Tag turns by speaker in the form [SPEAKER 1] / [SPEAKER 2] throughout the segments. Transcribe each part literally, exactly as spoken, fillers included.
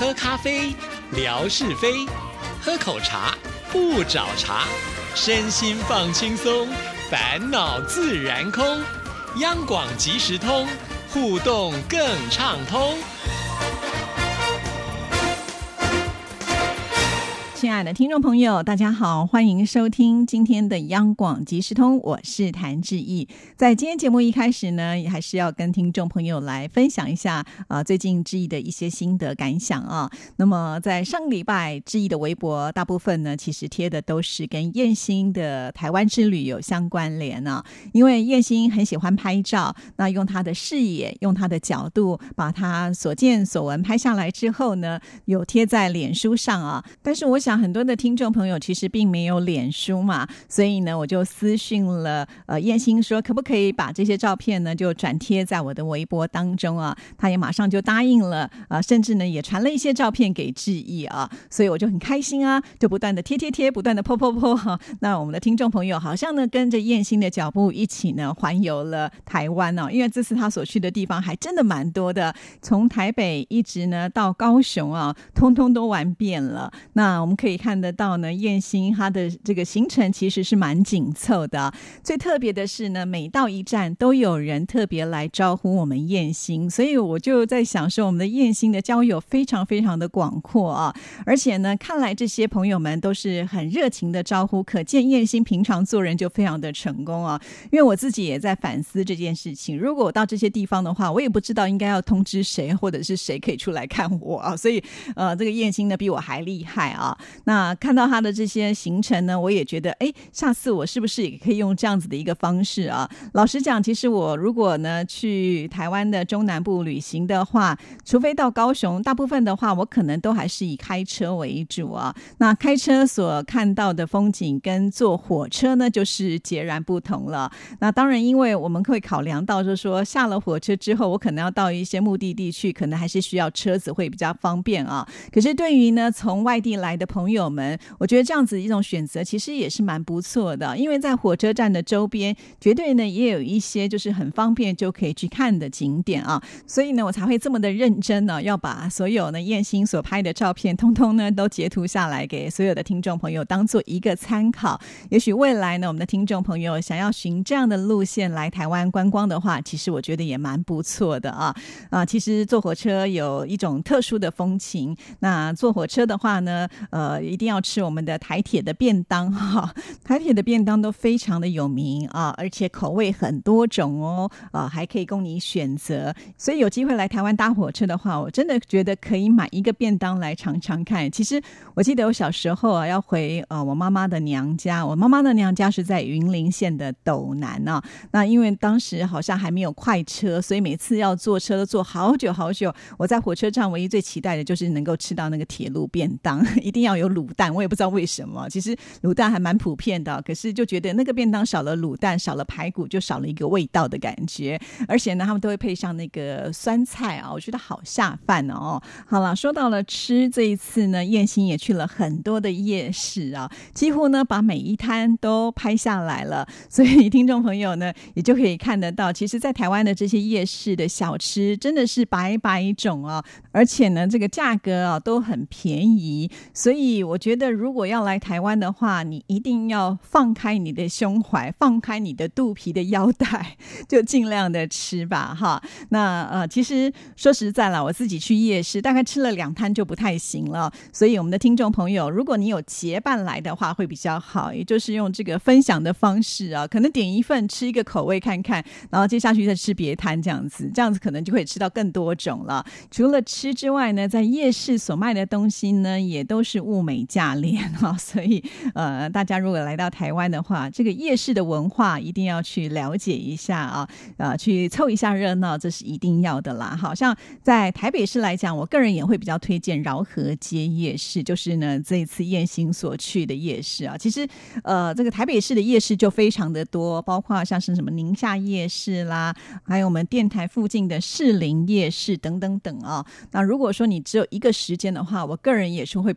[SPEAKER 1] 喝咖啡，聊是非；喝口茶，不找茬。身心放轻松，烦恼自然空。央广即时通，互动更畅通。
[SPEAKER 2] 亲爱的听众朋友，大家好，欢迎收听今天的央广即时通，我是谭志毅。在今天节目一开始呢，也还是要跟听众朋友来分享一下啊、呃，最近志毅的一些心得感想啊。那么在上个礼拜，志毅的微博大部分呢，其实贴的都是跟燕兴的台湾之旅有相关联啊。因为燕兴很喜欢拍照，那用他的视野，用他的角度，把他所见所闻拍下来之后呢，有贴在脸书上啊。但是我想很多的听众朋友其实并没有脸书嘛，所以呢我就私讯了呃燕兴说可不可以把这些照片呢就转贴在我的微博当中啊，他也马上就答应了啊、呃，甚至呢也传了一些照片给志毅啊，所以我就很开心啊，就不断的贴贴贴，不断的 po po po 哈、啊。那我们的听众朋友好像呢跟着燕兴的脚步一起呢环游了台湾哦、啊，因为这次他所去的地方还真的蛮多的，从台北一直呢到高雄啊，通通都玩遍了。那我们可以看得到呢，燕兴他的这个行程其实是蛮紧凑的。最特别的是呢，每到一站都有人特别来招呼我们燕兴，所以我就在想说，我们的燕兴的交友非常非常的广阔啊。而且呢，看来这些朋友们都是很热情的招呼，可见燕兴平常做人就非常的成功啊。因为我自己也在反思这件事情，如果我到这些地方的话，我也不知道应该要通知谁，或者是谁可以出来看我啊。所以呃，这个燕兴呢比我还厉害啊。那看到他的这些行程呢，我也觉得哎，下次我是不是也可以用这样子的一个方式啊？老实讲，其实我如果呢去台湾的中南部旅行的话，除非到高雄，大部分的话我可能都还是以开车为主啊。那开车所看到的风景跟坐火车呢就是截然不同了。那当然因为我们会考量到就是说下了火车之后，我可能要到一些目的地去，可能还是需要车子会比较方便啊。可是对于呢从外地来的朋友们，我觉得这样子一种选择其实也是蛮不错的，因为在火车站的周边绝对呢也有一些就是很方便就可以去看的景点啊，所以呢我才会这么的认真呢、啊，要把所有呢燕兴所拍的照片通通呢都截图下来给所有的听众朋友当做一个参考。也许未来呢我们的听众朋友想要循这样的路线来台湾观光的话，其实我觉得也蛮不错的啊啊！其实坐火车有一种特殊的风情，那坐火车的话呢呃一定要吃我们的台铁的便当哈，台铁的便当都非常的有名啊，而且口味很多种哦，啊还可以供你选择，所以有机会来台湾搭火车的话，我真的觉得可以买一个便当来尝尝看。其实我记得我小时候啊要回呃我妈妈的娘家，我妈妈的娘家是在云林县的斗南啊，那因为当时好像还没有快车，所以每次要坐车都坐好久好久。我在火车站唯一最期待的就是能够吃到那个铁路便当，一定要有卤蛋，我也不知道为什么，其实卤蛋还蛮普遍的，可是就觉得那个便当少了卤蛋，少了排骨，就少了一个味道的感觉。而且呢他们都会配上那个酸菜啊，我觉得好下饭哦。好了，说到了吃，这一次呢燕兴也去了很多的夜市啊，几乎呢把每一摊都拍下来了，所以听众朋友呢也就可以看得到，其实在台湾的这些夜市的小吃真的是百百种啊，而且呢这个价格啊都很便宜。所以我觉得如果要来台湾的话，你一定要放开你的胸怀，放开你的肚皮的腰带，就尽量的吃吧哈。那呃其实说实在啦，我自己去夜市大概吃了两摊就不太行了，所以我们的听众朋友，如果你有结伴来的话会比较好，也就是用这个分享的方式啊，可能点一份吃一个口味看看，然后接下去再吃别摊，这样子这样子可能就可以吃到更多种了。除了吃之外呢，在夜市所卖的东西呢也都是物美价廉啊，所以呃大家如果来到台湾的话，这个夜市的文化一定要去了解一下啊，呃去凑一下热闹，这是一定要的啦。好像在台北市来讲，我个人也会比较推荐饶河街夜市，就是呢这一次燕兴所去的夜市啊。其实呃这个台北市的夜市就非常的多，包括像是什么宁夏夜市啦，还有我们电台附近的士林夜市等等等啊。那如果说你只有一个时间的话，我个人也是会比较推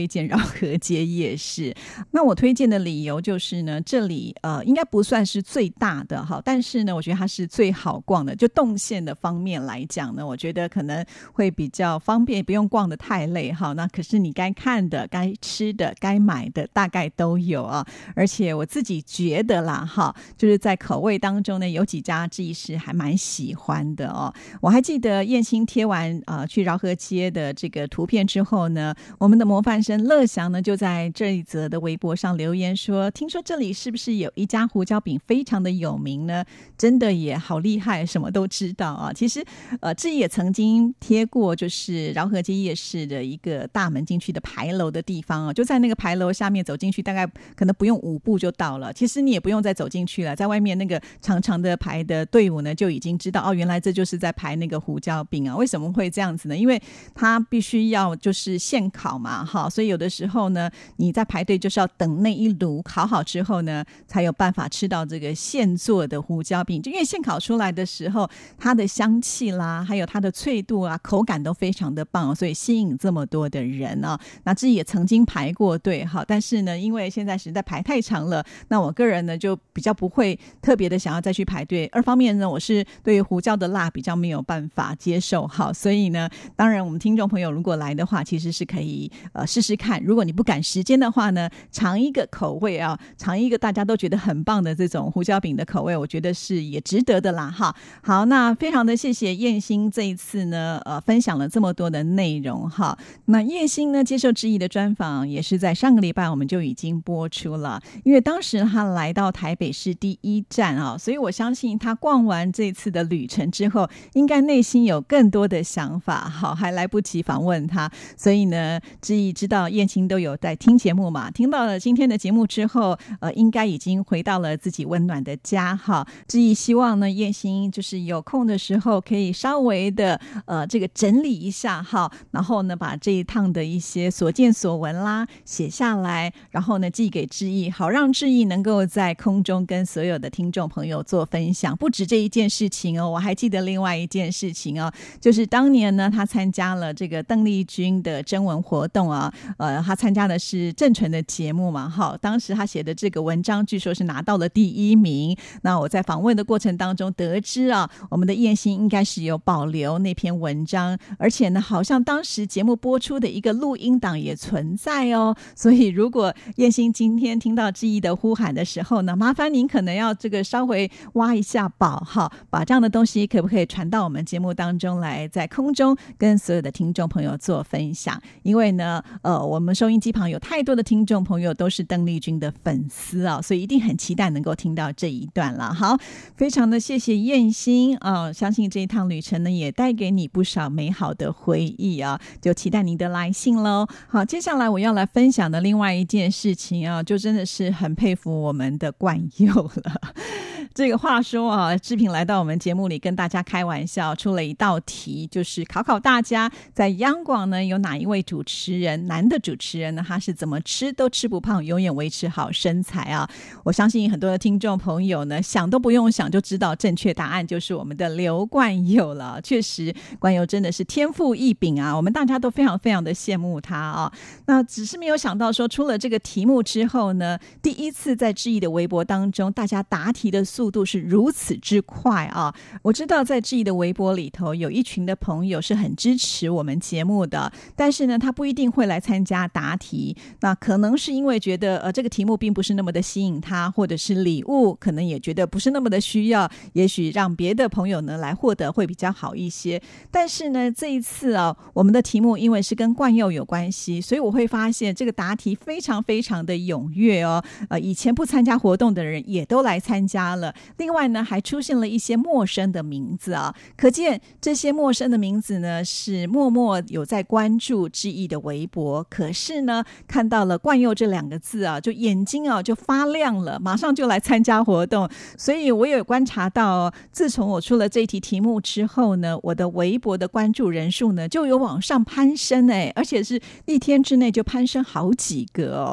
[SPEAKER 2] 推荐饶河街夜市。那我推荐的理由就是呢，这里呃应该不算是最大的哈，但是呢我觉得它是最好逛的，就动线的方面来讲呢，我觉得可能会比较方便，不用逛得太累哈。那可是你该看的该吃的该买的大概都有啊，而且我自己觉得啦哈，就是在口味当中呢，有几家志毅是还蛮喜欢的哦。我还记得燕心贴完呃去饶河街的这个图片之后呢，我们的模范生乐祥呢就在这一则的微博上留言说，听说这里是不是有一家胡椒饼非常的有名呢？真的也好厉害，什么都知道啊。其实呃志毅也曾经贴过就是饶河街夜市的一个大门进去的牌楼的地方啊，就在那个牌楼下面走进去大概可能不用五步就到了，其实你也不用再走进去了，在外面那个长长的排的队伍呢就已经知道哦，原来这就是在排那个胡椒饼啊。为什么会这样子呢？因为它必须要就是现烤嘛哈，所以有的时候呢你在排队就是要等那一炉烤好之后呢才有办法吃到这个现做的胡椒饼，就因为现烤出来的时候它的香气啦还有它的脆度啊口感都非常的棒，所以吸引这么多的人啊。那自己也曾经排过队哈，但是呢因为现在实在排太长了，那我个人呢就比较不会特别的想要再去排队，二方面呢我是对于胡椒的辣比较没有办法接受哈，所以呢当然我们听众朋友如果来的话其实是可以呃试试看，如果你不赶时间的话呢，尝一个口味啊，尝一个大家都觉得很棒的这种胡椒饼的口味，我觉得是也值得的啦哈。好，那非常的谢谢燕心这一次呢呃分享了这么多的内容哈。那燕心呢接受志毅的专访也是在上个礼拜我们就已经播出了，因为当时他来到台北市第一站啊，所以我相信他逛完这次的旅程之后应该内心有更多的想法，好还来不及访问他，所以呢志毅知道燕心都有在听节目嘛，听到了今天的节目之后呃，应该已经回到了自己温暖的家哈。志毅希望呢燕心就是有空的时候可以稍微的呃这个整理一下哈，然后呢把这一趟的一些所见所闻啦写下来，然后呢寄给志毅，好让志毅能够在空中跟所有的听众朋友做分享。不止这一件事情哦，我还记得另外一件事情哦，就是当年呢他参加了这个邓丽君的征文活动啊，呃他参加的是郑纯的节目嘛哈，当时他写的这个文章据说是拿到了第一名。那我在访问的过程当中得知啊，我们的燕心应该是有保留那篇文章，而且呢好像当时节目播出的一个录音档也存在哦，所以如果燕心今天听到志毅的呼喊的时候呢，麻烦您可能要这个稍微挖一下宝哈，把这样的东西可不可以传到我们节目当中来，在空中跟所有的听众朋友做分享。因为呢呃，我们收音机旁有太多的听众朋友都是邓丽君的粉丝啊，所以一定很期待能够听到这一段了。好，非常的谢谢燕心啊，相信这一趟旅程呢也带给你不少美好的回忆啊，就期待您的来信咯。好，接下来我要来分享的另外一件事情啊，就真的是很佩服我们的冠佑了。这个话说啊，志平来到我们节目里跟大家开玩笑，出了一道题，就是考考大家在央广呢有哪一位主持人，男的主持人呢，他是怎么吃都吃不胖，永远维持好身材啊。我相信很多的听众朋友呢想都不用想就知道正确答案就是我们的刘冠佑了。确实冠佑真的是天赋异禀啊，我们大家都非常非常的羡慕他啊。那只是没有想到说出了这个题目之后呢，第一次在志毅的微博当中大家答题的速度是如此之快啊。我知道在志毅的微博里头有一群的朋友是很支持我们节目的，但是呢他不一定会来参加答题，那可能是因为觉得呃这个题目并不是那么的吸引他，或者是礼物可能也觉得不是那么的需要，也许让别的朋友呢来获得会比较好一些。但是呢这一次啊，我们的题目因为是跟冠佑有关系，所以我会发现这个答题非常非常的踊跃哦。呃，以前不参加活动的人也都来参加了，另外呢还出现了一些陌生的名字啊，可见这些陌生的名字呢是默默有在关注志毅的微博，可是呢看到了冠佑这两个字啊，就眼睛啊就发亮了，马上就来参加活动。所以我有观察到哦，自从我出了这一题题目之后呢，我的微博的关注人数呢就有往上攀升哎，而且是一天之内就攀升好几个哦。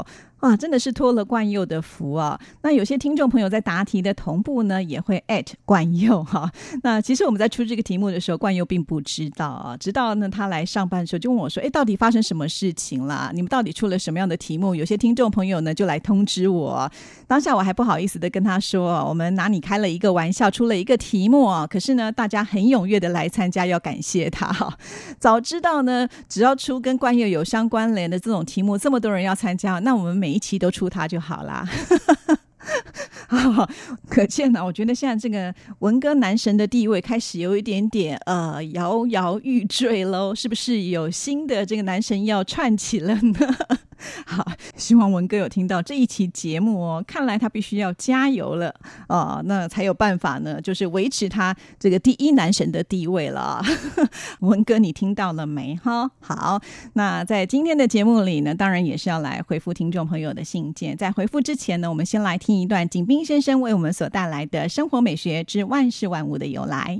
[SPEAKER 2] 哇，真的是托了冠佑的福啊！那有些听众朋友在答题的同步呢，也会 at 冠佑哈。那其实我们在出这个题目的时候，冠佑并不知道啊，直到呢他来上班的时候就问我说：“哎，到底发生什么事情啦？你们到底出了什么样的题目？”有些听众朋友呢就来通知我，当下我还不好意思的跟他说：“我们拿你开了一个玩笑，出了一个题目啊。”可是呢，大家很踊跃的来参加，要感谢他哈。早知道呢，只要出跟冠佑有相关联的这种题目，这么多人要参加，那我们每一期都出它就好啦。可见呢，我觉得现在这个文歌男神的地位开始有一点点呃摇摇欲坠喽，是不是有新的这个男神要串起了呢？好，希望文哥有听到这一期节目哦，看来他必须要加油了哦，那才有办法呢，就是维持他这个第一男神的地位了。文哥，你听到了没哈？好，那在今天的节目里呢，当然也是要来回复听众朋友的信件。在回复之前呢，我们先来听一段景斌先生为我们所带来的生活美学之万事万物的由来。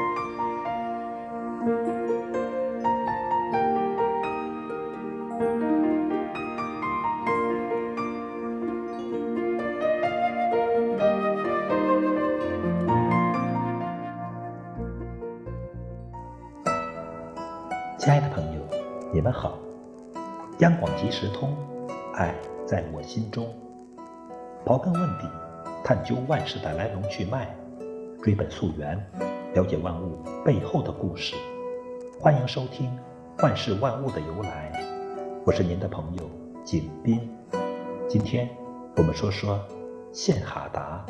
[SPEAKER 3] 亲爱的朋友，你们好！央广即时通，爱在我心中。刨根问底，探究万事的来龙去脉，追本溯源，了解万物背后的故事。欢迎收听《万事万物的由来》，我是您的朋友景斌。今天我们说说献哈达。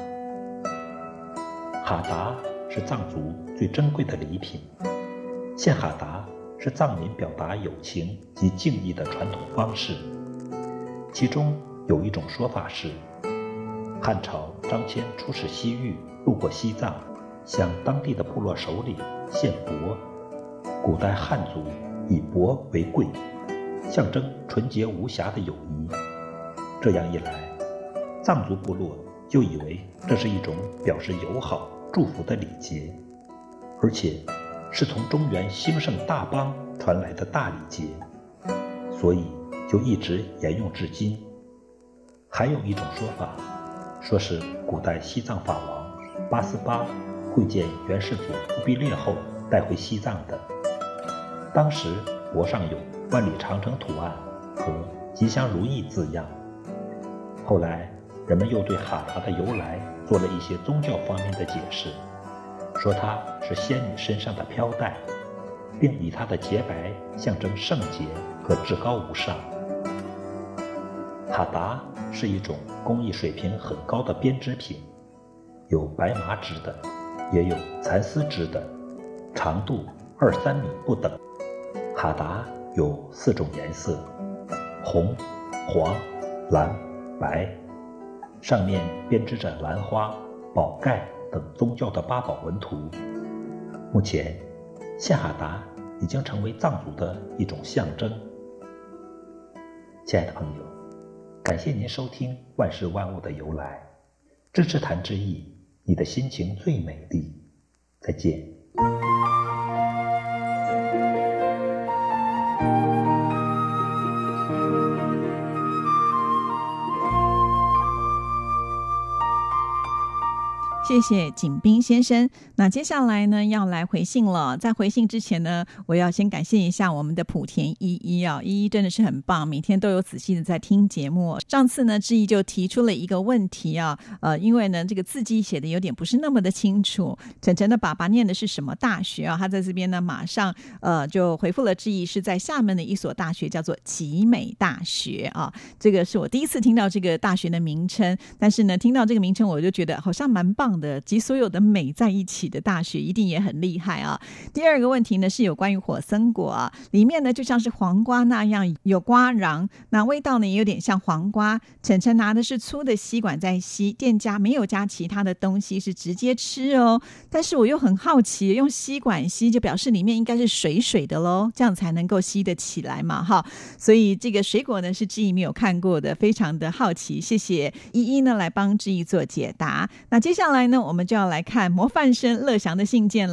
[SPEAKER 3] 哈达是藏族最珍贵的礼品，献哈达是藏民表达友情及敬意的传统方式。其中有一种说法是，汉朝张骞出使西域，路过西藏，向当地的部落首领献帛。古代汉族以帛为贵，象征纯洁无瑕的友谊。这样一来，藏族部落就以为这是一种表示友好祝福的礼节，而且是从中原兴盛大邦传来的大礼节，所以就一直沿用至今。还有一种说法，说是古代西藏法王八思巴会见元世祖忽必烈后带回西藏的。当时帛上有万里长城图案和吉祥如意字样。后来人们又对哈达的由来做了一些宗教方面的解释，说它是仙女身上的飘带，并以它的洁白象征圣洁和至高无上。哈达是一种工艺水平很高的编织品，有白麻织的，也有蚕丝织的，长度二三米不等。哈达有四种颜色：红、黄、蓝、白，上面编织着兰花、宝盖等宗教的八宝纹图。目前，献哈达已经成为藏族的一种象征。亲爱的朋友，感谢您收听《万事万物的由来》，支持谭志毅，你的心情最美丽。再见。
[SPEAKER 2] 谢谢景斌先生。那接下来呢，要来回信了。在回信之前呢，我要先感谢一下我们的莆田依依啊，依依真的是很棒，每天都有仔细的在听节目。上次呢，志毅就提出了一个问题啊，呃，因为呢这个字迹写的有点不是那么的清楚，晨晨的爸爸念的是什么大学啊？他在这边呢马上呃就回复了志毅，是在厦门的一所大学，叫做集美大学啊。这个是我第一次听到这个大学的名称，但是呢听到这个名称我就觉得好像蛮棒的，集所有的美在一起的大学一定也很厉害啊。第二个问题呢是有关于火森果啊，里面呢就像是黄瓜那样有瓜瓤，那味道呢也有点像黄瓜。晨晨拿的是粗的吸管在吸，店家没有加其他的东西，是直接吃哦。但是我又很好奇，用吸管吸就表示里面应该是水水的咯，这样才能够吸得起来嘛哈。所以这个水果呢是志毅没有看过的，非常的好奇。谢谢依依呢来帮志毅做解答。那接下来呢我们就要来看模范生乐祥的信件咯。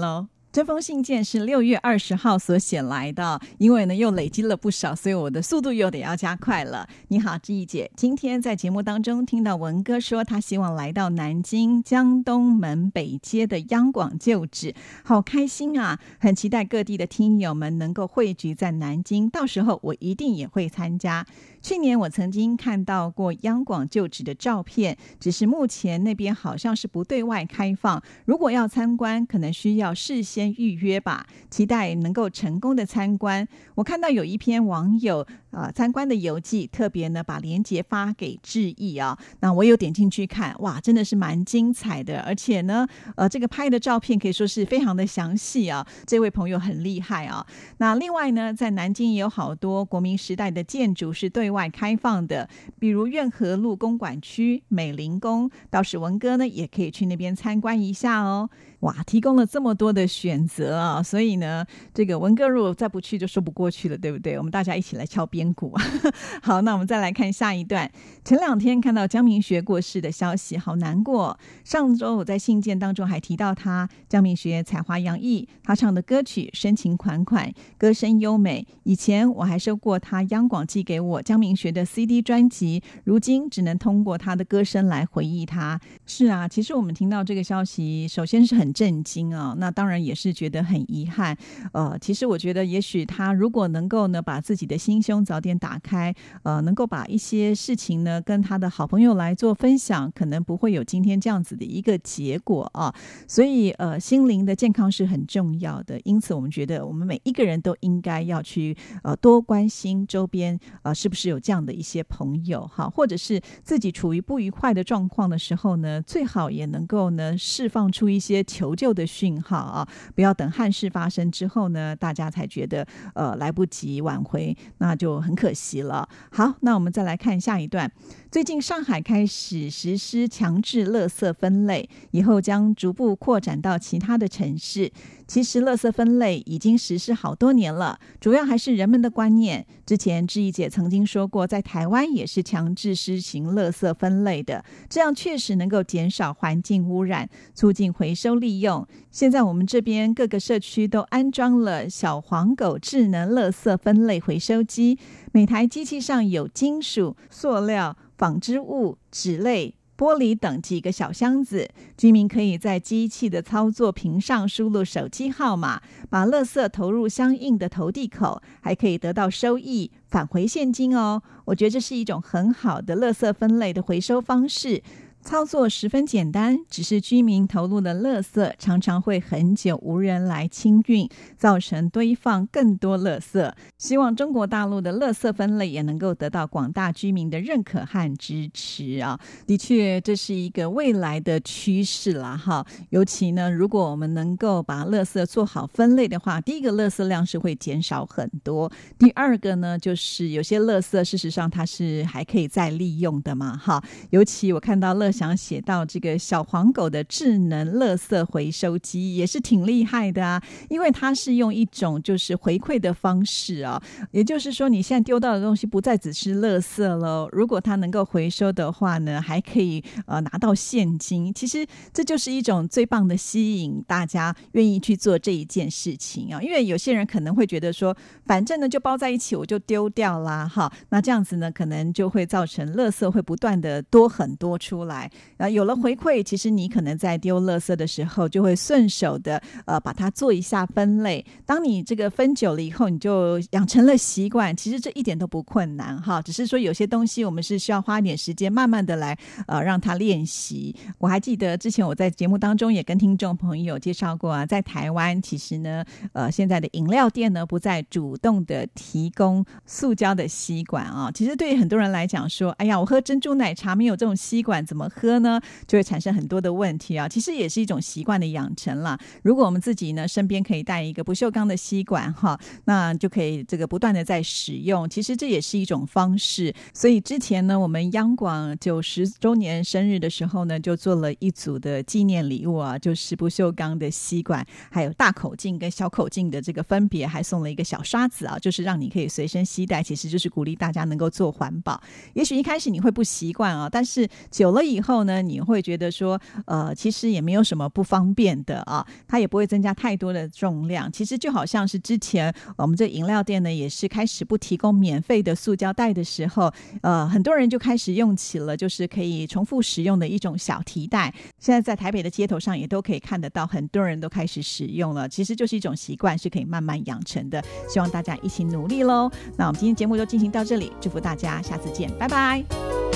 [SPEAKER 2] 这封信件是六月二十号所写来的，因为呢又累积了不少，所以我的速度又得要加快了。你好，志毅姐，今天在节目当中听到文哥说他希望来到南京江东门北街的央广旧址，好开心啊，很期待各地的听友们能够汇聚在南京，到时候我一定也会参加。去年我曾经看到过央广旧址的照片，只是目前那边好像是不对外开放，如果要参观可能需要事先预约吧，期待能够成功的参观。我看到有一篇网友呃参观的游记，特别呢把连结发给志毅啊，那我有点进去看，哇，真的是蛮精彩的，而且呢呃这个拍的照片可以说是非常的详细啊，这位朋友很厉害啊。那另外呢，在南京也有好多国民时代的建筑是对外开放的，比如苑河路公馆区、美龄宫，倒是文哥呢也可以去那边参观一下哦。哇，提供了这么多的选择啊，所以呢这个文哥如果再不去就说不过去了，对不对？我们大家一起来敲边鼓好，那我们再来看下一段。前两天看到江明学过世的消息，好难过。上周我在信件当中还提到他，江明学才华洋溢，他唱的歌曲深情款款，歌声优美。以前我还收过他央广寄给我江明学的 C D 专辑，如今只能通过他的歌声来回忆他。是啊，其实我们听到这个消息首先是很震惊啊，那当然也是觉得很遗憾。呃，其实我觉得也许他如果能够呢把自己的心胸早点打开，呃，能够把一些事情呢跟他的好朋友来做分享，可能不会有今天这样子的一个结果啊。所以呃，心灵的健康是很重要的，因此我们觉得我们每一个人都应该要去呃多关心周边呃是不是有这样的一些朋友哈，或者是自己处于不愉快的状况的时候呢，最好也能够呢释放出一些求救的讯号啊，不要等憾事发生之后呢，大家才觉得呃来不及挽回，那就很可惜了。好，那我们再来看下一段。最近上海开始实施强制垃圾分类，以后将逐步扩展到其他的城市。其实垃圾分类已经实施好多年了，主要还是人们的观念。之前志毅姐曾经说过，在台湾也是强制施行垃圾分类的，这样确实能够减少环境污染，促进回收利用。现在我们这边各个社区都安装了小黄狗智能垃圾分类回收机，每台机器上有金属、塑料、纺织物、纸类、玻璃等几个小箱子，居民可以在机器的操作屏上输入手机号码，把垃圾投入相应的投递口，还可以得到收益，返回现金哦。我觉得这是一种很好的垃圾分类的回收方式。操作十分简单，只是居民投入的垃圾常常会很久无人来清运，造成堆放更多垃圾。希望中国大陆的垃圾分类也能够得到广大居民的认可和支持啊！的确，这是一个未来的趋势啦哈。尤其呢，如果我们能够把垃圾做好分类的话，第一个垃圾量是会减少很多，第二个呢，就是有些垃圾事实上它是还可以再利用的嘛哈。尤其我看到乐想写到这个小黄狗的智能垃圾回收机也是挺厉害的啊，因为它是用一种就是回馈的方式啊，也就是说你现在丢到的东西不再只是垃圾了，如果它能够回收的话呢，还可以呃拿到现金。其实这就是一种最棒的吸引大家愿意去做这一件事情啊，因为有些人可能会觉得说反正呢就包在一起我就丢掉啦哈，那这样子呢可能就会造成垃圾会不断的多很多出来。呃，有了回馈，其实你可能在丢垃圾的时候就会顺手的呃把它做一下分类。当你这个分久了以后，你就养成了习惯，其实这一点都不困难哈，只是说有些东西我们是需要花一点时间慢慢的来呃让它练习。我还记得之前我在节目当中也跟听众朋友介绍过啊，在台湾其实呢呃现在的饮料店呢不再主动的提供塑胶的吸管啊，其实对于很多人来讲说，哎呀我喝珍珠奶茶没有这种吸管怎么喝呢，就会产生很多的问题啊。其实也是一种习惯的养成啦。如果我们自己呢身边可以带一个不锈钢的吸管哈，那就可以这个不断的在使用，其实这也是一种方式。所以之前呢我们央广九十周年生日的时候呢，就做了一组的纪念礼物啊，就是不锈钢的吸管，还有大口径跟小口径的这个分别，还送了一个小刷子啊，就是让你可以随身携带，其实就是鼓励大家能够做环保。也许一开始你会不习惯啊，但是久了以以后呢，你会觉得说呃，其实也没有什么不方便的啊，它也不会增加太多的重量。其实就好像是之前我们这饮料店呢也是开始不提供免费的塑胶袋的时候，呃，很多人就开始用起了就是可以重复使用的一种小提袋。现在在台北的街头上也都可以看得到，很多人都开始使用了，其实就是一种习惯，是可以慢慢养成的。希望大家一起努力咯。那我们今天节目就进行到这里，祝福大家，下次见，拜拜。